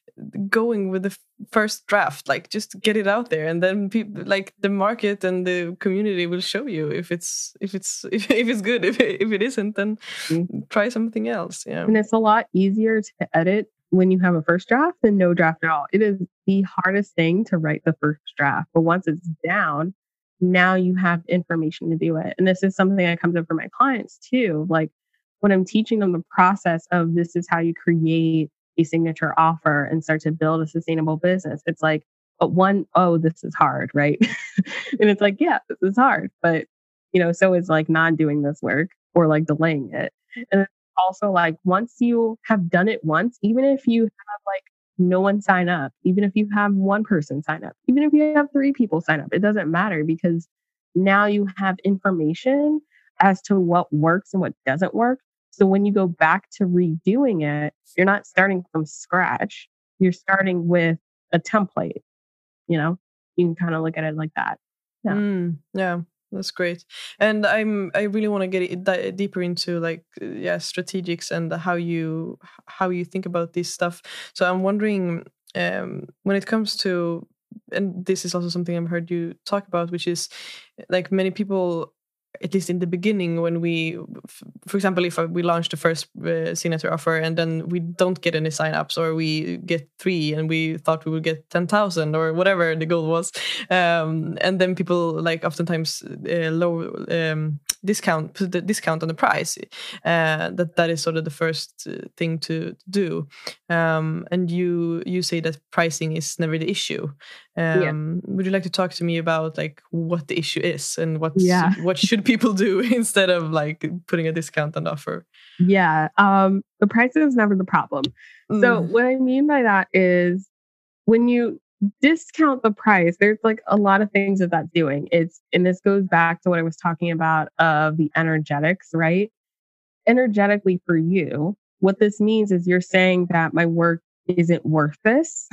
going with the f- first draft, like just get it out there, and then people like the market and the community will show you if it's if it's if, if it's good. If it, if it isn't, then mm-hmm. try something else. Yeah, and it's a lot easier to edit when you have a first draft than no draft at all. It is the hardest thing to write the first draft, but once it's down, now you have information to do it. And this is something that comes up for my clients too. Like when I'm teaching them the process of this is how you create a signature offer and start to build a sustainable business. It's like, but one, oh, this is hard, right? And it's like, yeah, this is hard. But, you know, so is like not doing this work or like delaying it. And also like once you have done it once, even if you have like no one sign up, even if you have one person sign up, even if you have three people sign up, it doesn't matter because now you have information as to what works and what doesn't work. So when you go back to redoing it, you're not starting from scratch. You're starting with a template. You know, you can kind of look at it like that. Yeah, mm, yeah, that's great. And I'm I really want to get it di- deeper into like yeah strategics and how you how you think about this stuff. So I'm wondering um, when it comes to, and this is also something I've heard you talk about, which is like many people, at least in the beginning, when we, for example, if we launch the first uh, signature offer and then we don't get any signups, or we get three and we thought we would get ten thousand or whatever the goal was. Um, and then people like oftentimes uh, low um, discount, put the discount on the price. Uh, that that is sort of the first thing to do. Um, and you you say that pricing is never the issue. Um, yeah. Would you like to talk to me about like what the issue is and what yeah. what should people do instead of like putting a discount on the offer? Yeah, um, the price is never the problem. Mm. So what I mean by that is when you discount the price, there's like a lot of things that that's doing. It's and this goes back to what I was talking about of the energetics, right? Energetically for you, what this means is you're saying that my work isn't worth this.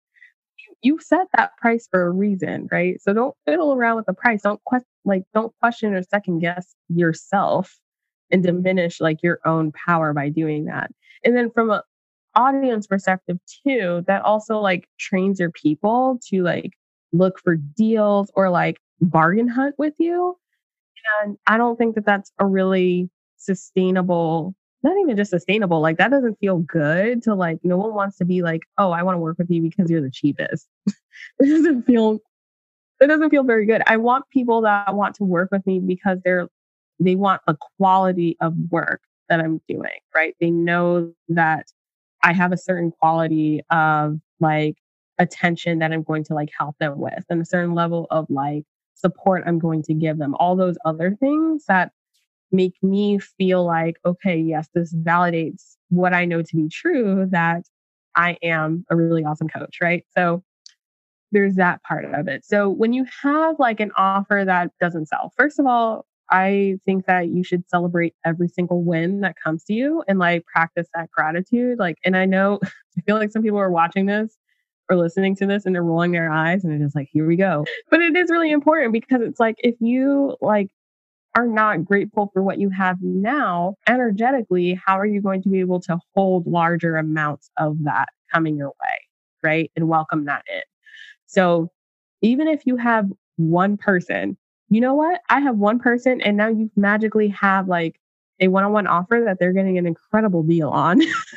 You set that price for a reason, right? So don't fiddle around with the price. Don't question, like, don't question or second guess yourself and diminish like your own power by doing that. And then from an audience perspective too, that also like trains your people to like look for deals or like bargain hunt with you. And I don't think that that's a really sustainable, not even just sustainable, like that doesn't feel good to like, no one wants to be like, oh, I want to work with you because you're the cheapest. It doesn't feel, it doesn't feel very good. I want people that want to work with me because they're, they want the quality of work. that I'm doing, right? They know that I have a certain quality of like attention that I'm going to like help them with and a certain level of like support I'm going to give them. All those other things that make me feel like, okay, yes, this validates what I know to be true, that I am a really awesome coach, right? So there's that part of it. So when you have like an offer that doesn't sell, first of all, I think that you should celebrate every single win that comes to you and like practice that gratitude. Like, and I know, I feel like some people are watching this or listening to this and they're rolling their eyes and they're just like, here we go. But it is really important because it's like, if you like are not grateful for what you have now, energetically, how are you going to be able to hold larger amounts of that coming your way, right? And welcome that in. So even if you have one person, you know what? I have one person and now you magically have like a one-on-one offer that they're getting an incredible deal on,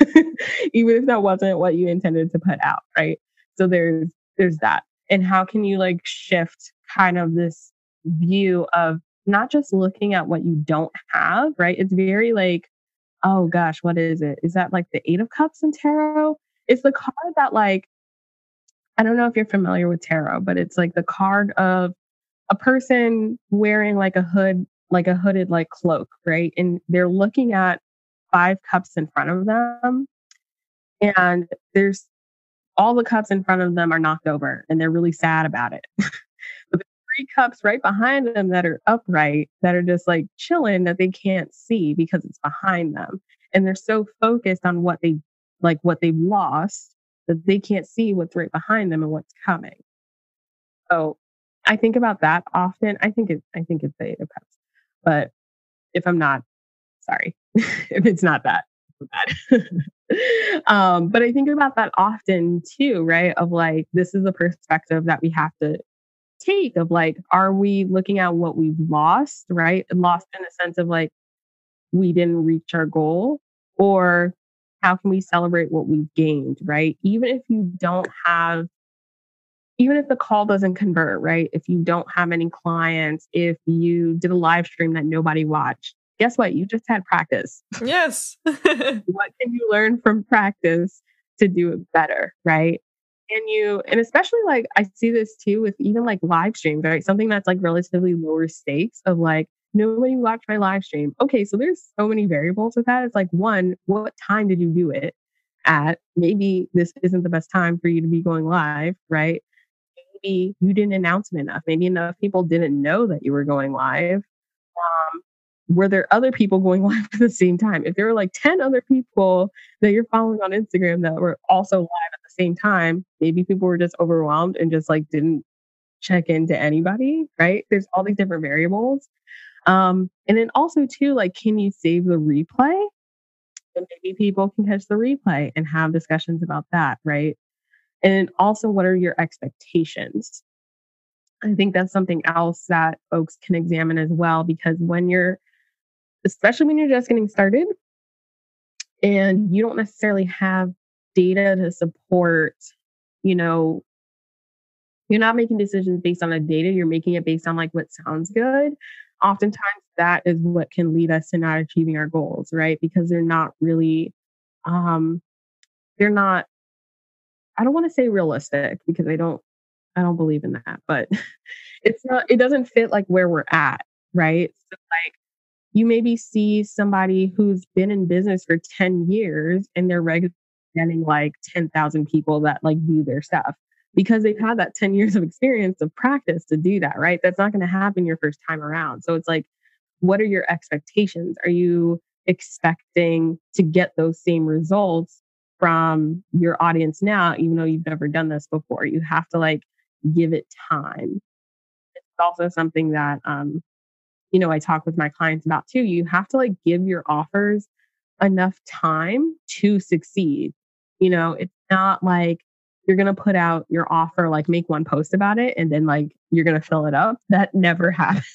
even if that wasn't what you intended to put out, right? So there's there's that. And how can you like shift kind of this view of not just looking at what you don't have, right? It's very like, oh gosh, what is it? Is that like the Eight of Cups in tarot? It's the card that like, I don't know if you're familiar with tarot, but it's like the card of a person wearing like a hood, like a hooded like cloak, right? And they're looking at five cups in front of them. And there's all the cups in front of them are knocked over and they're really sad about it. But there's three cups right behind them that are upright, that are just like chilling, that they can't see because it's behind them. And they're so focused on what they like what they've lost that they can't see what's right behind them and what's coming. So I think about that often. I think it I think it's the Eight of Cups. But if I'm not, sorry. If it's not that, bad. um, but I think about that often too, right? Of like, this is a perspective that we have to take of like, are we looking at what we've lost, right? Lost in a sense of like, we didn't reach our goal, or how can we celebrate what we've gained, right? Even if you don't have, even if the call doesn't convert, right? If you don't have any clients, if you did a live stream that nobody watched, guess what? You just had practice. Yes. What can you learn from practice to do it better, right? And you, and especially like, I see this too with even like live streams, right? Something that's like relatively lower stakes of like, nobody watched my live stream. Okay, so there's so many variables with that. It's like, one, what time did you do it at? Maybe this isn't the best time for you to be going live, right? Maybe you didn't announce it enough. Maybe enough people didn't know that you were going live. Um, were there other people going live at the same time? If there were like ten other people that you're following on Instagram that were also live at the same time, maybe people were just overwhelmed and just like didn't check into anybody, right? There's all these different variables. Um, and then also too, like, can you save the replay? And maybe people can catch the replay and have discussions about that, right? And also, what are your expectations? I think that's something else that folks can examine as well, because when you're, especially when you're just getting started and you don't necessarily have data to support, you know, you're not making decisions based on the data, you're making it based on like what sounds good. Oftentimes that is what can lead us to not achieving our goals, right? Because they're not really, um, they're not, I don't want to say realistic because I don't, I don't believe in that, but it's not, it doesn't fit like where we're at, right? So like you maybe see somebody who's been in business for ten years and they're regularly getting like ten thousand people that like view their stuff because they've had that ten years of experience of practice to do that, right? That's not going to happen your first time around. So it's like, what are your expectations? Are you expecting to get those same results from your audience now, even though you've never done this before? You have to like give it time. It's also something that, um, you know, I talk with my clients about too. You have to like give your offers enough time to succeed. You know, it's not like you're going to put out your offer, like make one post about it, and then like you're going to fill it up. That never happens.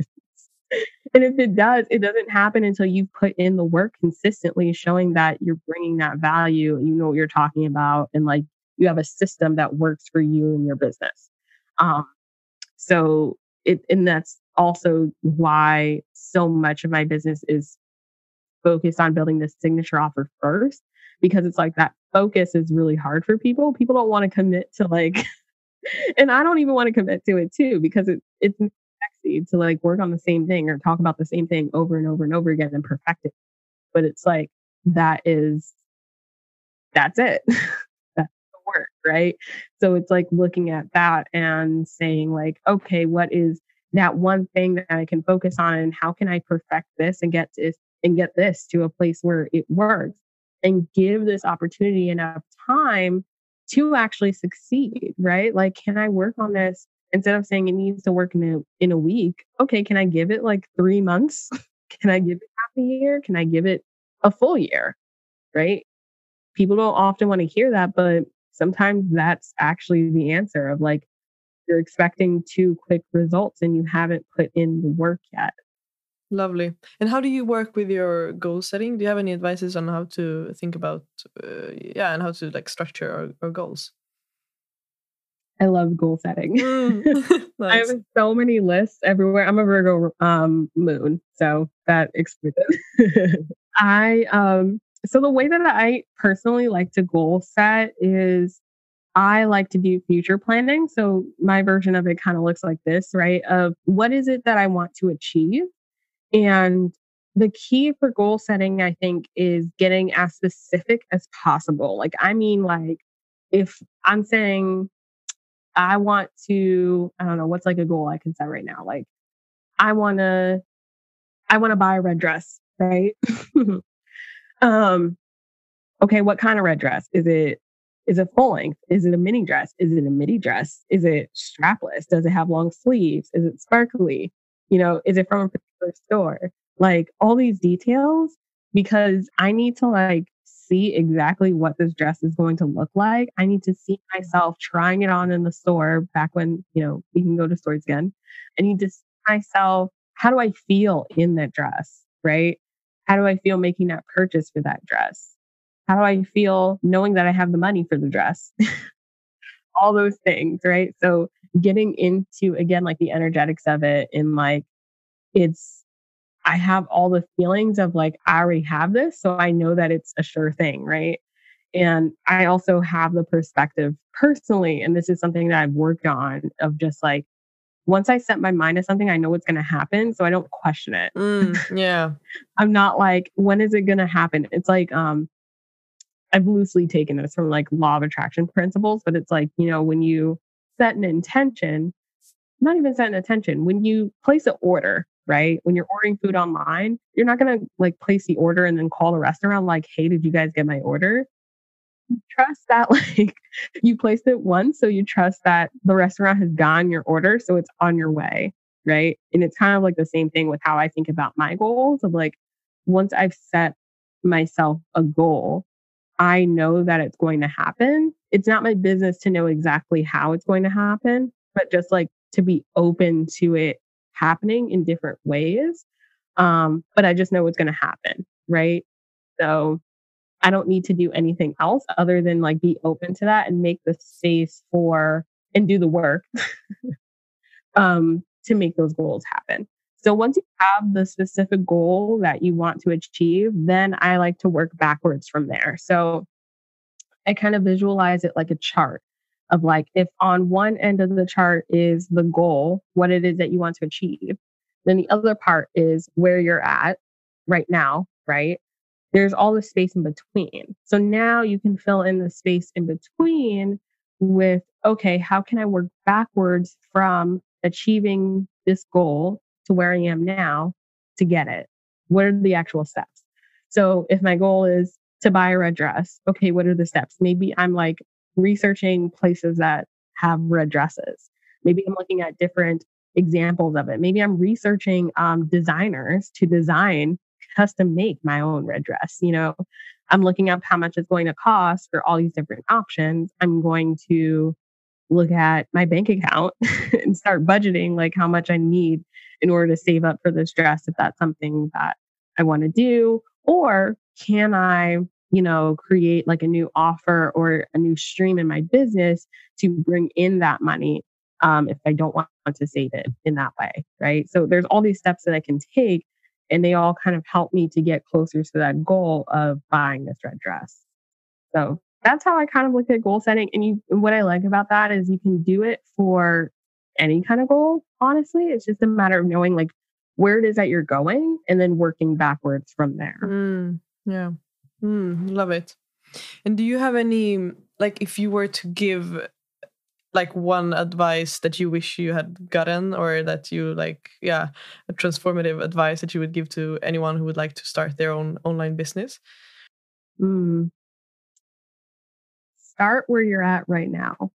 And if it does, it doesn't happen until you put in the work consistently, showing that you're bringing that value, you know what you're talking about, and like you have a system that works for you and your business. Um, so it, and that's also why so much of my business is focus on building this signature offer first, because it's like that focus is really hard for people. People don't want to commit to like, and I don't even want to commit to it too, because it, it's sexy to like work on the same thing or talk about the same thing over and over and over again and perfect it. But it's like, that is, that's it. That's the work, right? So it's like looking at that and saying like, okay, what is that one thing that I can focus on, and how can I perfect this and get this and get this to a place where it works, and give this opportunity enough time to actually succeed, right? Like, can I work on this instead of saying it needs to work in a in a week? Okay, can I give it like three months? Can I give it half a year? Can I give it a full year? Right? People don't often want to hear that, but sometimes that's actually the answer of like, you're expecting too quick results and you haven't put in the work yet. Lovely. And how do you work with your goal setting? Do you have any advices on how to think about, uh, yeah, and how to like structure our, our goals? I love goal setting. Mm. Nice. I have so many lists everywhere. I'm a Virgo um, moon, so that explains it. I um, so the way that I personally like to goal set is I like to do future planning. So my version of it kind of looks like this, right? Of what is it that I want to achieve? And the key for goal setting, I think, is getting as specific as possible. Like, I mean, like if I'm saying I want to, I don't know, what's like a goal I can set right now? Like, I want to, I want to buy a red dress, right? um, okay, what kind of red dress? Is it Is it full length? Is it a mini dress? Is it a midi dress? Is it strapless? Does it have long sleeves? Is it sparkly? You know, is it from a particular store? Like all these details, because I need to like see exactly what this dress is going to look like. I need to see myself trying it on in the store back when, you know, we can go to stores again. I need to see myself, how do I feel in that dress, right? How do I feel making that purchase for that dress? How do I feel knowing that I have the money for the dress? All those things, right? So getting into, again, like the energetics of it, and like, it's, I have all the feelings of like, I already have this, so I know that it's a sure thing, right? And I also have the perspective personally, and this is something that I've worked on, of just like, once I set my mind to something, I know what's going to happen, so I don't question it. Mm, yeah. I'm not like, when is it going to happen? It's like, um, I've loosely taken this from like law of attraction principles, but it's like, you know, when you set an intention, not even set an intention, when you place an order, right? When you're ordering food online, you're not going to like place the order and then call the restaurant like, hey, did you guys get my order? You trust that like you placed it once. So you trust that the restaurant has gotten your order. So it's on your way, right? And it's kind of like the same thing with how I think about my goals of like, once I've set myself a goal, I know that it's going to happen. It's not my business to know exactly how it's going to happen, but just like to be open to it happening in different ways. Um, but I just know it's going to happen, right? So I don't need to do anything else other than like be open to that and make the space for and do the work um, to make those goals happen. So once you have the specific goal that you want to achieve, then I like to work backwards from there. So I kind of visualize it like a chart of like, if on one end of the chart is the goal, what it is that you want to achieve, then the other part is where you're at right now, right? There's all the space in between. So now you can fill in the space in between with, okay, how can I work backwards from achieving this goal to where I am now to get it? What are the actual steps? So if my goal is to buy a red dress, okay, what are the steps? Maybe I'm like researching places that have red dresses. Maybe I'm looking at different examples of it. Maybe I'm researching um, designers to design, custom make my own red dress. You know, I'm looking up how much it's going to cost for all these different options. I'm going to look at my bank account and start budgeting like how much I need in order to save up for this dress, if that's something that I want to do. Or can I, you know, create like a new offer or a new stream in my business to bring in that money um, if I don't want to save it in that way, right? So there's all these steps that I can take And they all kind of helped me to get closer to that goal of buying this red dress. So that's how I kind of look at goal setting. And you, and what I like about that is you can do it for any kind of goal. Honestly, it's just a matter of knowing like where it is that you're going and then working backwards from there. Mm, yeah. Mm, love it. And do you have any, like, if you were to give like one advice that you wish you had gotten, or that you like, yeah, a transformative advice that you would give to anyone who would like to start their own online business? Mm. Start where you're at right now.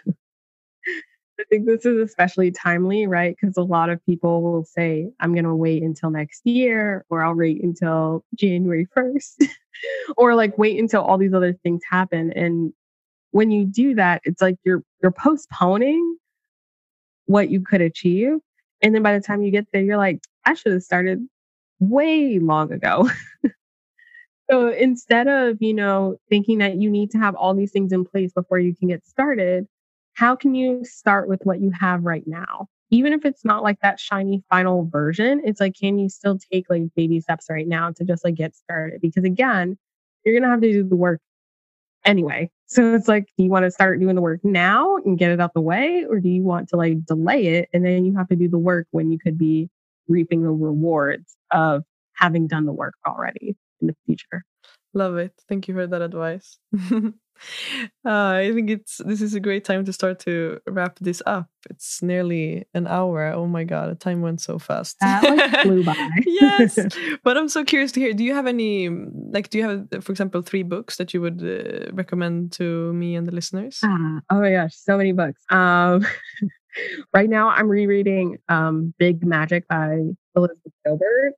I think this is especially timely, right? Because a lot of people will say, I'm going to wait until next year, or I'll wait until January first, or like wait until all these other things happen. And when you do that, it's like you're you're postponing what you could achieve. And then by the time you get there, you're like, I should have started way long ago. So instead of, you know, thinking that you need to have all these things in place before you can get started, how can you start with what you have right now? Even if it's not like that shiny final version, it's like, can you still take like baby steps right now to just like get started? Because again, you're going to have to do the work anyway. So it's like, do you want to start doing the work now and get it out the way? Or do you want to like delay it and then you have to do the work when you could be reaping the rewards of having done the work already in the future? Love it. Thank you for that advice. uh, I think it's this is a great time to start to wrap this up. It's nearly an hour. Oh my god, the time went so fast. That like flew by. Yes, but I'm so curious to hear. Do you have any, like, do you have, for example, three books that you would uh, recommend to me and the listeners? Ah, oh my gosh, so many books. Um, right now, I'm rereading um, Big Magic by Elizabeth Gilbert.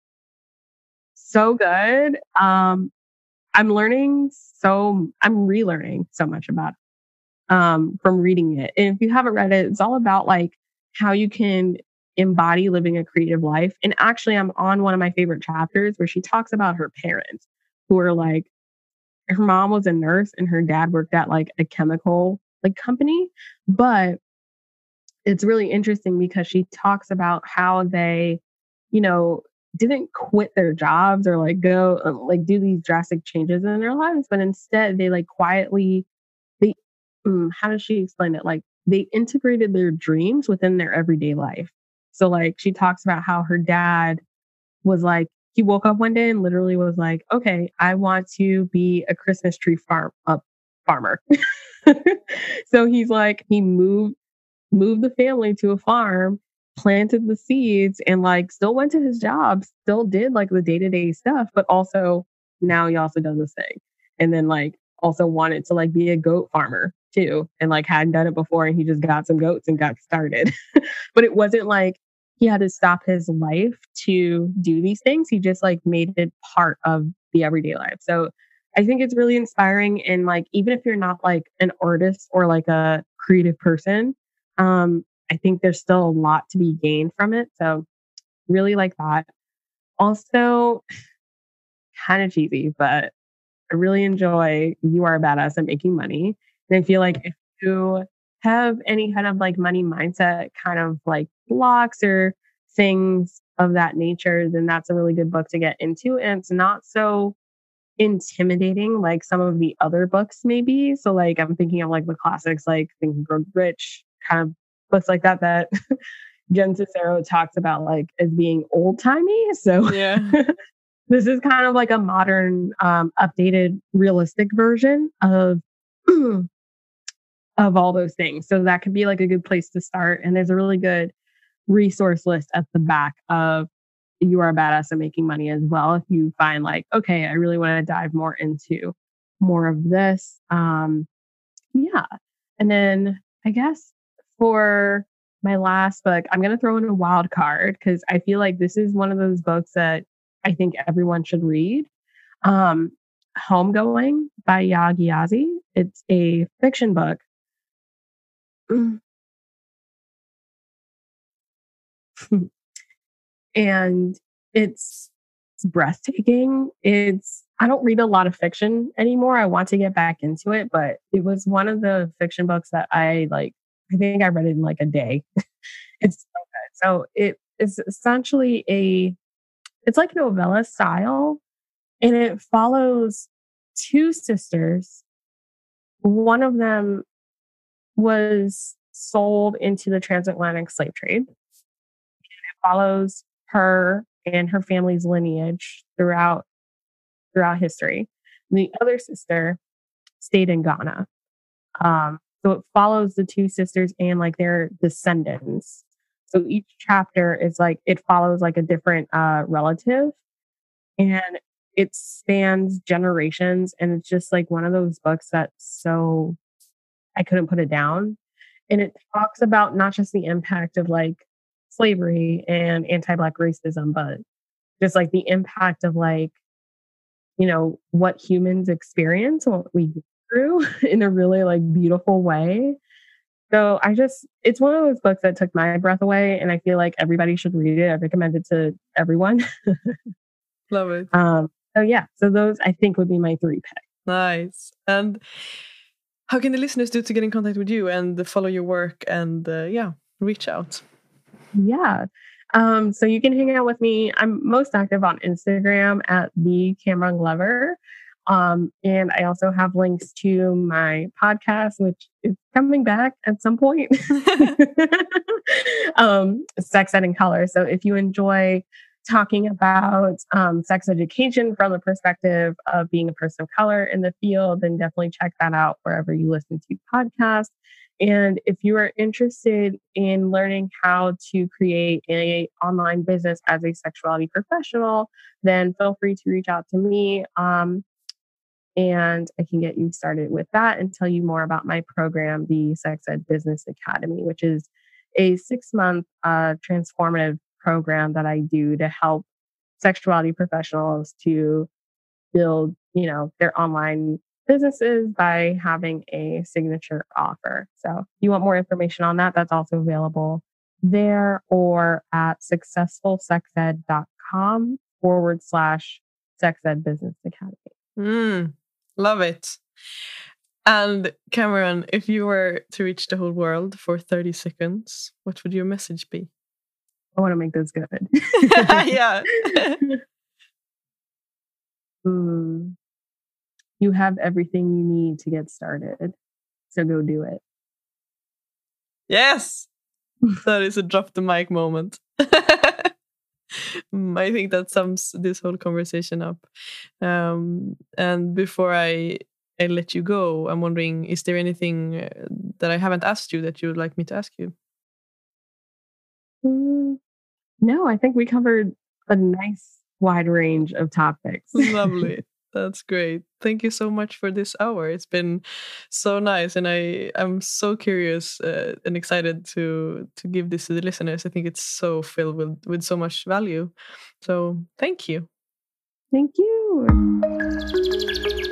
So good. Um, I'm learning so, I'm relearning so much about it um, from reading it. And if you haven't read it, it's all about like how you can embody living a creative life. And actually, I'm on one of my favorite chapters where she talks about her parents who are like, her mom was a nurse and her dad worked at like a chemical like company. But it's really interesting because she talks about how they, you know, didn't quit their jobs or like go uh, like do these drastic changes in their lives, but instead they like quietly, they, mm, how does she explain it? Like they integrated their dreams within their everyday life. So like she talks about how her dad was like, he woke up one day and literally was like, okay, I want to be a Christmas tree farm uh, farmer. So he's like, he moved, moved the family to a farm, planted the seeds, and like still went to his job, still did like the day-to-day stuff, but also now he also does this thing. And then like also wanted to like be a goat farmer too. And like hadn't done it before and he just got some goats and got started. But it wasn't like he had to stop his life to do these things. He just like made it part of the everyday life. So I think it's really inspiring. And like, even if you're not like an artist or like a creative person, um, I think there's still a lot to be gained from it. So really like that. Also, kind of cheesy, but I really enjoy You Are a Badass at Making Money. And I feel like if you have any kind of like money mindset kind of like blocks or things of that nature, then that's a really good book to get into. And it's not so intimidating like some of the other books maybe. So like I'm thinking of like the classics like Think and Grow Rich, kind of books like that that Jen Sincero talks about like as being old timey. So Yeah. this is kind of like a modern, um, updated, realistic version of of all those things. So that could be like a good place to start. And there's a really good resource list at the back of You Are a Badass at Making Money as well. If you find like, okay, I really want to dive more into more of this. Um, yeah. And then I guess for my last book, I'm going to throw in a wild card because I feel like this is one of those books that I think everyone should read. Um, Homegoing by Yaa Gyasi. It's a fiction book. And it's, it's breathtaking. It's, I don't read a lot of fiction anymore. I want to get back into it, but it was one of the fiction books that I like, I think I read it in like a day. It's so good. So it is essentially a, it's like novella style, and it follows two sisters. One of them was sold into the transatlantic slave trade. It follows her and her family's lineage throughout throughout history. And the other sister stayed in Ghana. Um, so it follows the two sisters and like their descendants. So each chapter is like, it follows like a different uh, relative, and it spans generations. And it's just like one of those books that's so, I couldn't put it down. And it talks about not just the impact of like slavery and anti-Black racism, but just like the impact of like, you know, what humans experience, what we go through in a really like beautiful way. So I just, it's one of those books that took my breath away, and I feel like everybody should read it. I recommend it to everyone. Love it. Um, so yeah, so those I think would be my three picks. Nice. And how can the listeners do to get in contact with you and follow your work and uh, yeah, reach out? Yeah. Um, so you can hang out with me. I'm most active on Instagram at the Cameron Glover. Um, and I also have links to my podcast, which is coming back at some point. um, Sex Ed in Color. So if you enjoy talking about um, sex education from the perspective of being a person of color in the field, then definitely check that out wherever you listen to podcasts. And if you are interested in learning how to create an online business as a sexuality professional, then feel free to reach out to me. Um, and I can get you started with that and tell you more about my program, the Sex Ed Business Academy, which is a six-month uh, transformative program that I do to help sexuality professionals to build, you know, their online businesses by having a signature offer. So if you want more information on that, that's also available there or at successfulsexed.com forward slash Sex Ed Business Academy. Mm, love it. And Cameron, if you were to reach the whole world for thirty seconds, what would your message be? I want to make this good. Yeah. mm. You have everything you need to get started. So go do it. Yes. That is a drop the mic moment. I think that sums this whole conversation up. Um, and before I, I let you go, I'm wondering, is there anything that I haven't asked you that you would like me to ask you? Mm, no, I think we covered a nice wide range of topics. Lovely. That's great. Thank you so much for this hour. It's been so nice, and I I'm so curious uh, and excited to to give this to the listeners. I think it's so filled with with so much value. So thank you. Thank you.